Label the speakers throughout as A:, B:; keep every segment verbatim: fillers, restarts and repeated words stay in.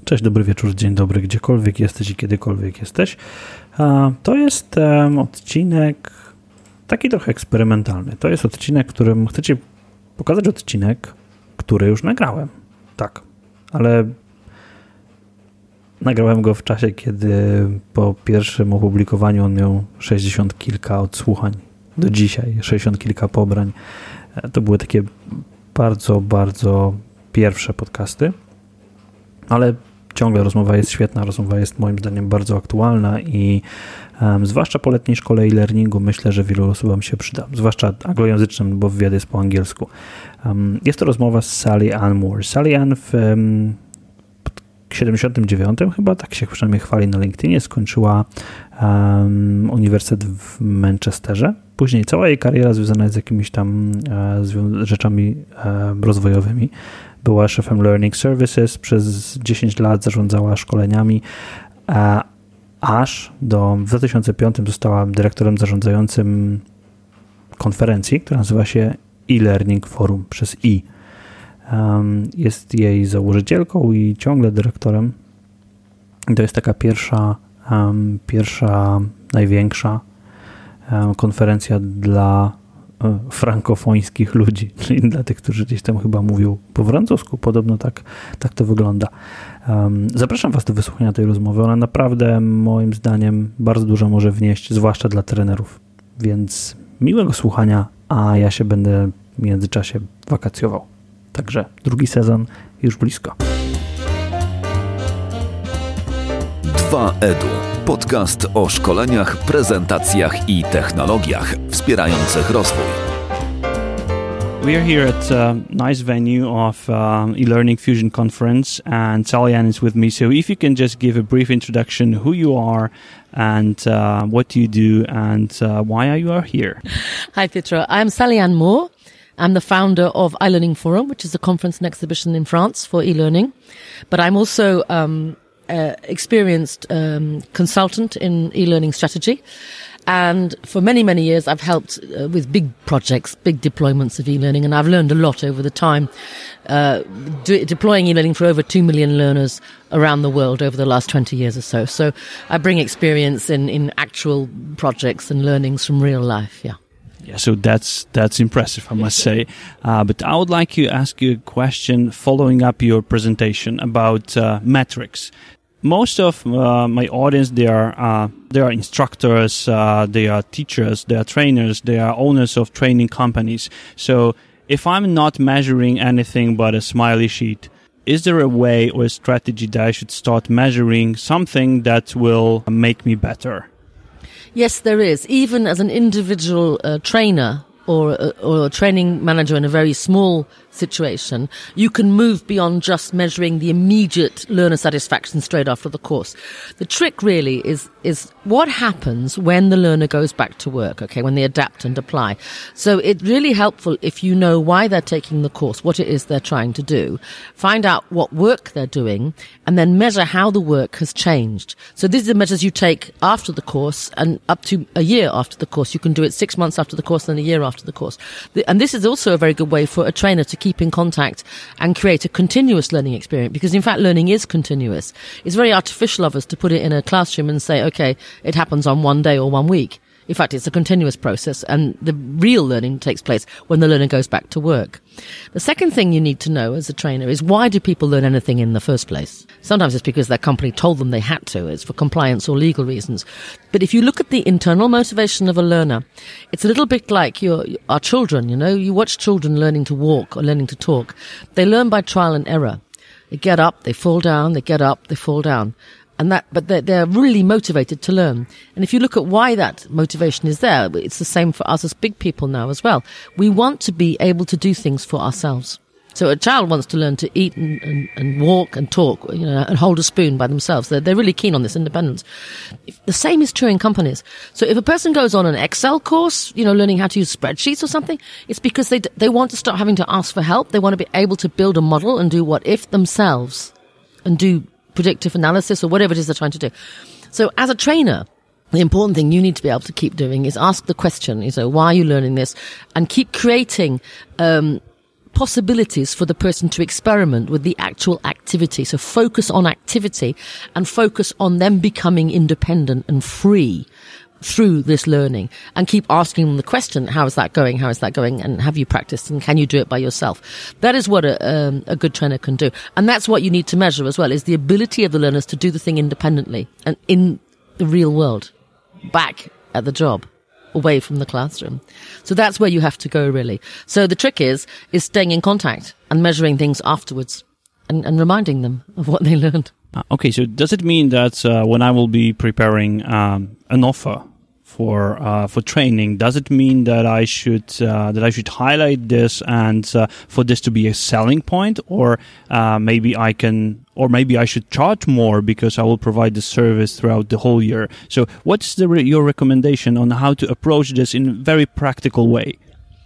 A: Cześć, dobry wieczór, dzień dobry, gdziekolwiek jesteś i kiedykolwiek jesteś. To jest odcinek taki trochę eksperymentalny. To jest odcinek, którym chcę Ci pokazać odcinek, który już nagrałem. Tak, ale nagrałem go w czasie, kiedy po pierwszym opublikowaniu on miał sześćdziesiąt kilka odsłuchań. Do dzisiaj sześćdziesiąt kilka pobrań. To były takie bardzo, bardzo pierwsze podcasty, ale ciągle rozmowa jest świetna, rozmowa jest moim zdaniem bardzo aktualna i um, zwłaszcza po letniej szkole e-learningu myślę, że wielu osobom się przyda, zwłaszcza anglojęzycznym, bo wywiad jest po angielsku. Um, jest to rozmowa z Sally Ann Moore. Sally Ann w um, siedemdziesiątym dziewiątym chyba, tak się przynajmniej chwali na LinkedInie, skończyła um, uniwersytet w Manchesterze. Później cała jej kariera związana jest z jakimiś tam e, zwią- rzeczami e, rozwojowymi. Była szefem Learning Services, przez dziesięć lat zarządzała szkoleniami, a aż do w dwa tysiące piątym została dyrektorem zarządzającym konferencji, która nazywa się e-Learning Forum przez i. Um, jest jej założycielką i ciągle dyrektorem. To jest taka pierwsza, um, pierwsza największa um, konferencja dla frankofońskich ludzi, czyli dla tych, którzy gdzieś tam chyba mówią po francusku. Podobno tak, tak to wygląda. Um, zapraszam Was do wysłuchania tej rozmowy. Ona naprawdę moim zdaniem bardzo dużo może wnieść, zwłaszcza dla trenerów. Więc miłego słuchania, a ja się będę w międzyczasie wakacjował. Także drugi sezon już blisko.
B: dwa edu. Podcast o szkoleniach, prezentacjach i technologiach wspierających rozwój.
A: We are here at a nice venue of um, e-Learning Fusion Conference, and Sally Ann is with me. So if you can just give a brief introduction, who you are and uh, what you do and uh, why are you are here?
C: Hi, Pietro. I'm Sally Ann Moore. I'm the founder of e-Learning Forum, which is a conference and exhibition in France for e-learning. But I'm also um, uh, experienced um, consultant in e-learning strategy. And for many, many years, I've helped uh, with big projects, big deployments of e-learning, and I've learned a lot over the time, uh, de- deploying e-learning for over two million learners around the world over the last twenty years or so. So I bring experience in, in actual projects and learnings from real life, yeah.
A: Yeah, so that's that's impressive, I must say. Uh, but I would like to ask you a question following up your presentation about uh, metrics. Most of uh, my audience, they are uh, they are instructors, uh, they are teachers, they are trainers, they are owners of training companies. So if I'm not measuring anything but a smiley sheet, is there a way or a strategy that I should start measuring something that will make me better?
C: Yes, there is. Even as an individual uh, trainer or a, or a training manager in a very small situation, you can move beyond just measuring the immediate learner satisfaction straight after the course. The trick really is is what happens when the learner goes back to work, okay, when they adapt and apply. So it's really helpful if you know why they're taking the course, what it is they're trying to do, find out what work they're doing, and then measure how the work has changed. So these are the measures you take after the course and up to a year after the course. You can do it six months after the course and a year after the course. And this is also a very good way for a trainer to keep in contact and create a continuous learning experience, because in fact learning is continuous. It's very artificial of us to put it in a classroom and say, okay, it happens on one day or one week. In fact, it's a continuous process, and the real learning takes place when the learner goes back to work. The second thing you need to know as a trainer is, why do people learn anything in the first place? Sometimes it's because their company told them they had to. It's for compliance or legal reasons. But if you look at the internal motivation of a learner, it's a little bit like your, our children, you know. You watch children learning to walk or learning to talk. They learn by trial and error. They get up, they fall down, they get up, they fall down. And that, but they're, they're really motivated to learn. And if you look at why that motivation is there, it's the same for us as big people now as well. We want to be able to do things for ourselves. So a child wants to learn to eat and, and, and walk and talk, you know, and hold a spoon by themselves. They're, they're really keen on this independence. If, the same is true in companies. So if a person goes on an Excel course, you know, learning how to use spreadsheets or something, it's because they, they want to stop having to ask for help. They want to be able to build a model and do what if themselves and do predictive analysis or whatever it is they're trying to do. So as a trainer, the important thing you need to be able to keep doing is ask the question, you know, why are you learning this? And keep creating, um, possibilities for the person to experiment with the actual activity. So focus on activity and focus on them becoming independent and free through this learning, and keep asking them the question, how is that going? How is that going? And have you practiced? And can you do it by yourself? That is what a, um, a good trainer can do. And that's what you need to measure as well, is the ability of the learners to do the thing independently and in the real world, back at the job, away from the classroom. So that's where you have to go, really. So the trick is, is staying in contact and measuring things afterwards and, and reminding them of what they learned.
D: Uh, okay, so does it mean that uh, when I will be preparing um, an offer for uh, for training, does it mean that I should uh, that I should highlight this and uh, for this to be a selling point, or uh, maybe I can, or maybe I should charge more because I will provide the service throughout the whole year? So, what's the re- your recommendation on how to approach this in a very practical way?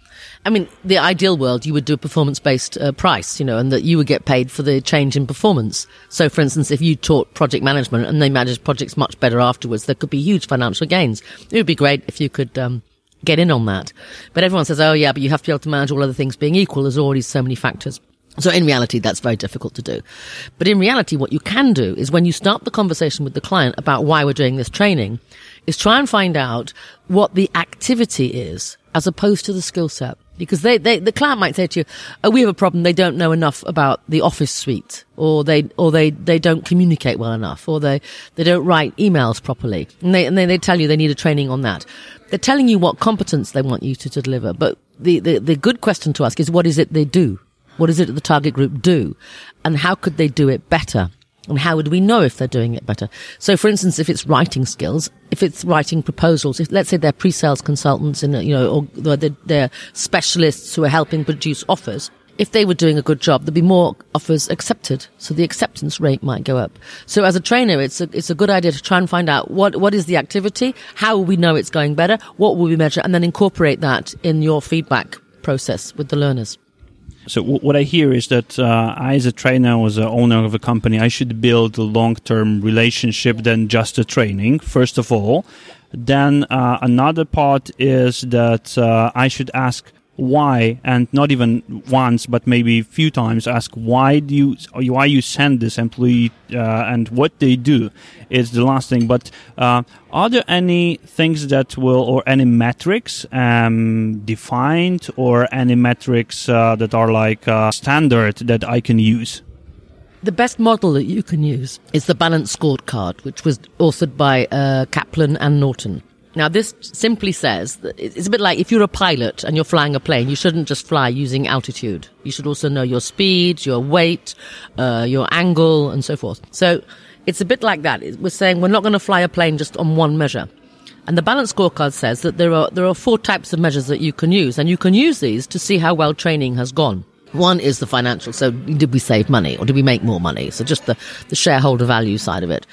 C: I mean, the ideal world, you would do a performance-based uh, price, you know, and that you would get paid for the change in performance. So, for instance, if you taught project management and they managed projects much better afterwards, there could be huge financial gains. It would be great if you could um, get in on that. But everyone says, oh, yeah, but you have to be able to manage all other things being equal. There's already so many factors. So in reality, that's very difficult to do. But in reality, what you can do is when you start the conversation with the client about why we're doing this training, is try and find out what the activity is as opposed to the skill set. Because they, they, the client might say to you, oh, we have a problem. They don't know enough about the office suite, or they, or they, they don't communicate well enough, or they, they don't write emails properly. And they, and they, they tell you they need a training on that. They're telling you what competence they want you to, to deliver. But the, the, the good question to ask is, what is it they do? What is it that the target group do? And how could they do it better? And how would we know if they're doing it better? So, for instance, if it's writing skills, if it's writing proposals, if let's say they're pre-sales consultants and, you know, or they're, they're specialists who are helping produce offers, if they were doing a good job, there'd be more offers accepted. So the acceptance rate might go up. So as a trainer, it's a, it's a good idea to try and find out what, what is the activity? How will we know it's going better? What will we measure? And then incorporate that in your feedback process with the learners.
D: So w- what I hear is that uh, I, as a trainer, as an owner of a company, I should build a long-term relationship than just a training, first of all. Then uh, another part is that uh, I should ask why, and not even once, but maybe a few times, ask why do you why you send this employee uh, and what they do is the last thing. But uh, are there any things that will, or any metrics um, defined, or any metrics uh, that are like uh, standard that I can use?
C: The best model that you can use is the Balance Scorecard, which was authored by uh, Kaplan and Norton. Now, this simply says that it's a bit like if you're a pilot and you're flying a plane, you shouldn't just fly using altitude. You should also know your speed, your weight, uh, your angle, and so forth. So it's a bit like that. We're saying we're not going to fly a plane just on one measure. And the Balance Scorecard says that there are there are four types of measures that you can use, and you can use these to see how well training has gone. One is the financial. So did we save money, or did we make more money? So just the, the shareholder value side of it.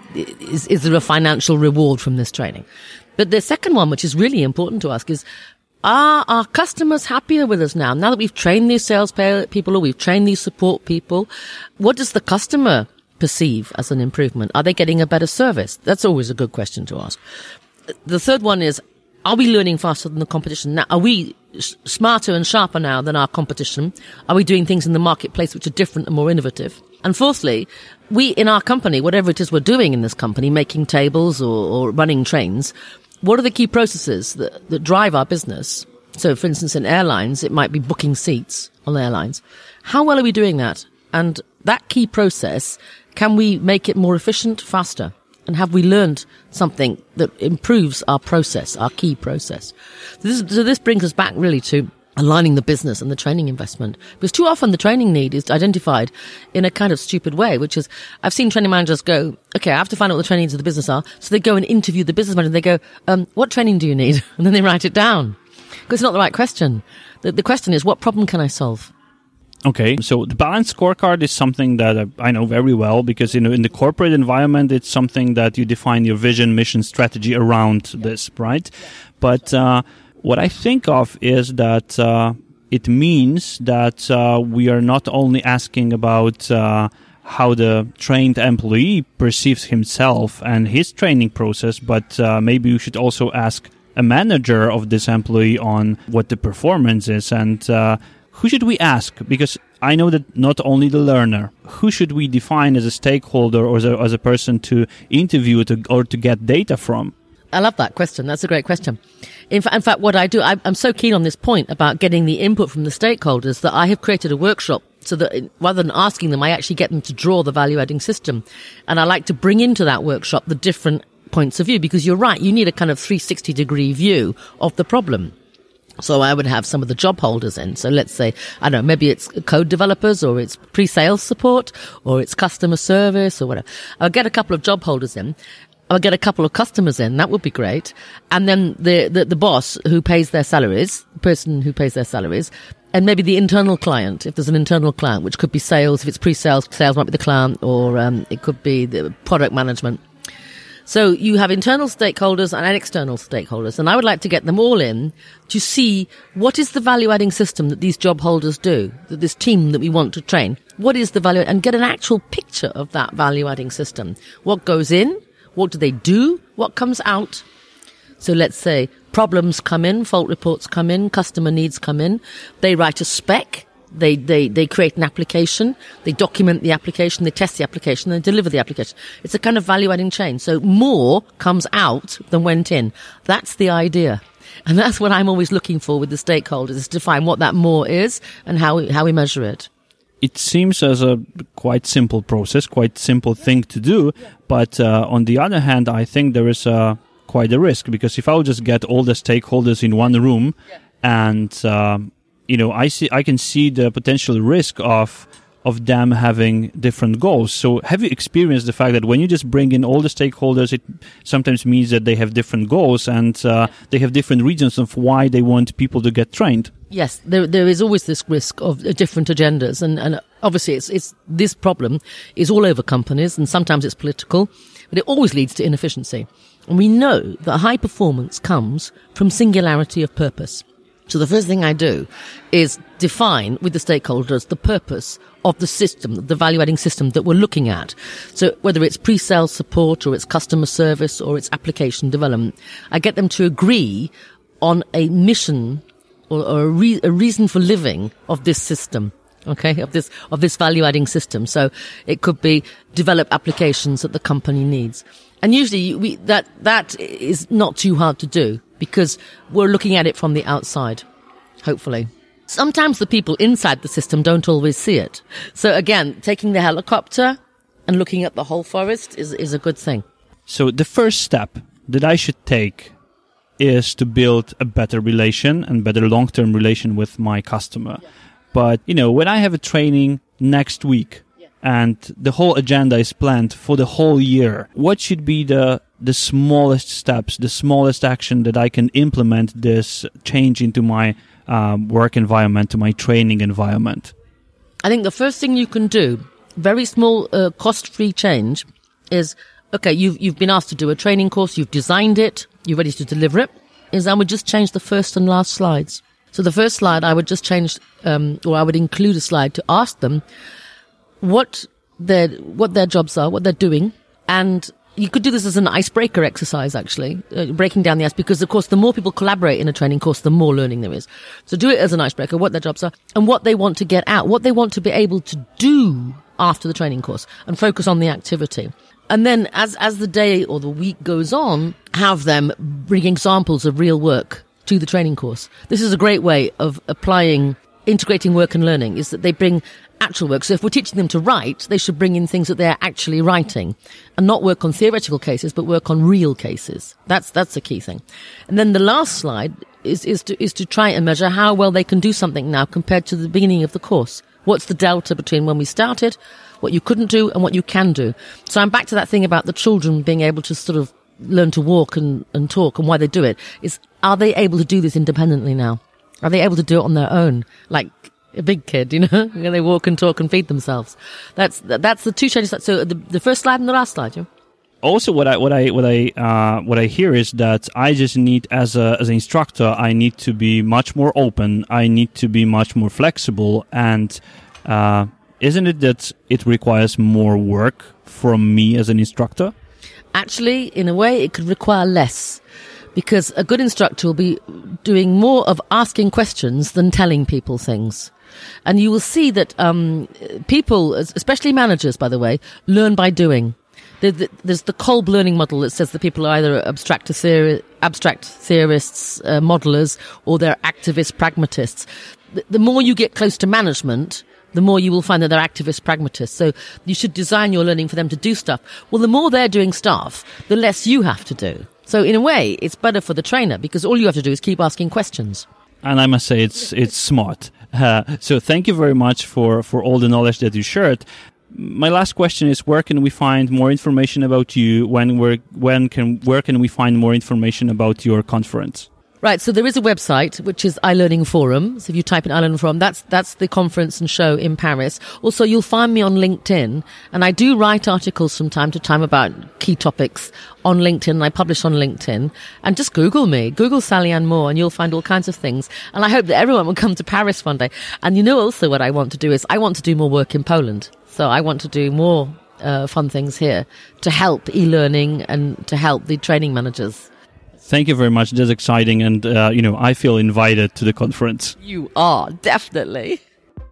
C: Is, is there a financial reward from this training? But the second one, which is really important to ask, is are our customers happier with us now? Now that we've trained these sales people, or we've trained these support people, what does the customer perceive as an improvement? Are they getting a better service? That's always a good question to ask. The third one is, are we learning faster than the competition? Now, are we smarter and sharper now than our competition? Are we doing things in the marketplace which are different and more innovative? And fourthly, we in our company, whatever it is we're doing in this company, making tables or, or running trains, what are the key processes that, that drive our business? So, for instance, in airlines, it might be booking seats on airlines. How well are we doing that? And that key process, can we make it more efficient, faster? And have we learned something that improves our process, our key process? So this, so this brings us back really to aligning the business and the training investment. Because too often the training need is identified in a kind of stupid way, which is, I've seen training managers go, okay, I have to find out what the training needs of the business are. So they go and interview the business manager and they go, um, what training do you need? And then they write it down. Because it's not the right question. The, the question is, what problem can I solve?
D: Okay, so the Balance Scorecard is something that I know very well because, you know, in the corporate environment, it's something that you define your vision, mission, strategy around this, right? But uh, what I think of is that uh, it means that uh, we are not only asking about uh, how the trained employee perceives himself and his training process, but uh, maybe we should also ask a manager of this employee on what the performance is and uh, who should we ask? Because I know that not only the learner, who should we define as a stakeholder or as a, as a person to interview to, or to get data from?
C: I love that question. That's a great question. In, fa- in fact, what I do, I, I'm so keen on this point about getting the input from the stakeholders that I have created a workshop so that in, rather than asking them, I actually get them to draw the value-adding system. And I like to bring into that workshop the different points of view, because you're right, you need a kind of three sixty degree view of the problem. So I would have some of the job holders in. So let's say, I don't know, maybe it's code developers or it's pre-sales support or it's customer service or whatever. I'll get a couple of job holders in. I'll get a couple of customers in. That would be great. And then the, the, the boss who pays their salaries, the person who pays their salaries, and maybe the internal client, if there's an internal client, which could be sales. If it's pre-sales, sales might be the client, or um, it could be the product management. So you have internal stakeholders and external stakeholders, and I would like to get them all in to see what is the value-adding system that these job holders do, that this team that we want to train. What is the value, and get an actual picture of that value-adding system. What goes in? What do they do? What comes out? So let's say problems come in, fault reports come in, customer needs come in. They write a spec. They, they, they create an application. They document the application. They test the application. They deliver the application. It's a kind of value-adding chain. So more comes out than went in. That's the idea. And that's what I'm always looking for with the stakeholders, is to find what that more is and how we, how we measure it.
D: It seems as a quite simple process, quite simple thing to do. But uh, on the other hand, I think there is uh, quite a risk, because if I would just get all the stakeholders in one room and, um, you know, I see, I can see the potential risk of of them having different goals. So have you experienced the fact that when you just bring in all the stakeholders, it sometimes means that they have different goals and uh, they have different reasons of why they want people to get trained?
C: Yes, there there is always this risk of uh, different agendas, and, and obviously it's it's this problem is all over companies, and sometimes it's political, but it always leads to inefficiency. And we know that high performance comes from singularity of purpose. So the first thing I do is define with the stakeholders the purpose of the system, the value-adding system that we're looking at. So whether it's pre-sales support or it's customer service or it's application development, I get them to agree on a mission or, or a, re- a reason for living of this system. Okay, of this, of this value-adding system. So it could be develop applications that the company needs. And usually we, that, that is not too hard to do because we're looking at it from the outside, hopefully. Sometimes the people inside the system don't always see it. So again, taking the helicopter and looking at the whole forest is, is a good thing.
D: So the first step that I should take is to build a better relation and better long-term relation with my customer. Yeah. But, you know, when I have a training next week yeah. and the whole agenda is planned for the whole year, what should be the the smallest steps, the smallest action that I can implement this change into my um, work environment, to my training environment?
C: I think the first thing you can do, very small, uh, cost-free change, is, okay, you've, you've been asked to do a training course, you've designed it, you're ready to deliver it, is I would just change the first and last slides. So the first slide, I would just change, um, or I would include a slide to ask them what their, what their jobs are, what they're doing, and you could do this as an icebreaker exercise, actually, uh, breaking down the ice, because, of course, the more people collaborate in a training course, the more learning there is. So do it as an icebreaker, what their jobs are, and what they want to get out, what they want to be able to do after the training course, and focus on the activity. And then as, as the day or the week goes on, have them bring examples of real work to the training course. This is a great way of applying, integrating work and learning, is that they bring actual work. So if we're teaching them to write, they should bring in things that they're actually writing and not work on theoretical cases, but work on real cases. That's, that's the key thing. And then the last slide is, is to, is to try and measure how well they can do something now compared to the beginning of the course. What's the delta between when we started, what you couldn't do, and what you can do? So I'm back to that thing about the children being able to sort of learn to walk and, and talk, and why they do it is, are they able to do this independently now? Are they able to do it on their own? Like a big kid, you know, when they walk and talk and feed themselves. That's, that's the two changes. So the, the first slide and the last slide, yeah.
D: Also, what I what I what I uh, what I hear is that I just need, as a as an instructor, I need to be much more open. I need to be much more flexible. And uh, isn't it that it requires more work from me as an instructor?
C: Actually, in a way, it could require less, because a good instructor will be doing more of asking questions than telling people things. And you will see that um, people, especially managers, by the way, learn by doing. There's the Kolb learning model that says that people are either abstract, theori- abstract theorists, uh, modelers, or they're activist pragmatists. The, the more you get close to management, the more you will find that they're activist pragmatists. So you should design your learning for them to do stuff. Well, the more they're doing stuff, the less you have to do. So in a way, it's better for the trainer because all you have to do is keep asking questions.
D: And I must say, it's it's smart. Uh, so thank you very much for, for all the knowledge that you shared. My last question is: where can we find more information about you? When we're, when can where can we find more information about your conference?
C: Right, so there is a website, which is iLearning Forum. So if you type in iLearning Forum, that's that's the conference and show in Paris. Also, you'll find me on LinkedIn, and I do write articles from time to time about key topics on LinkedIn, and I publish on LinkedIn. And just Google me, Google Sally Ann Moore, and you'll find all kinds of things. And I hope that everyone will come to Paris one day. And you know also what I want to do is I want to do more work in Poland. So I want to do more uh, fun things here to help e-learning and to help the training managers.
D: Thank you very much. That's exciting. And, uh, you know, I feel invited to the conference.
C: You are, definitely.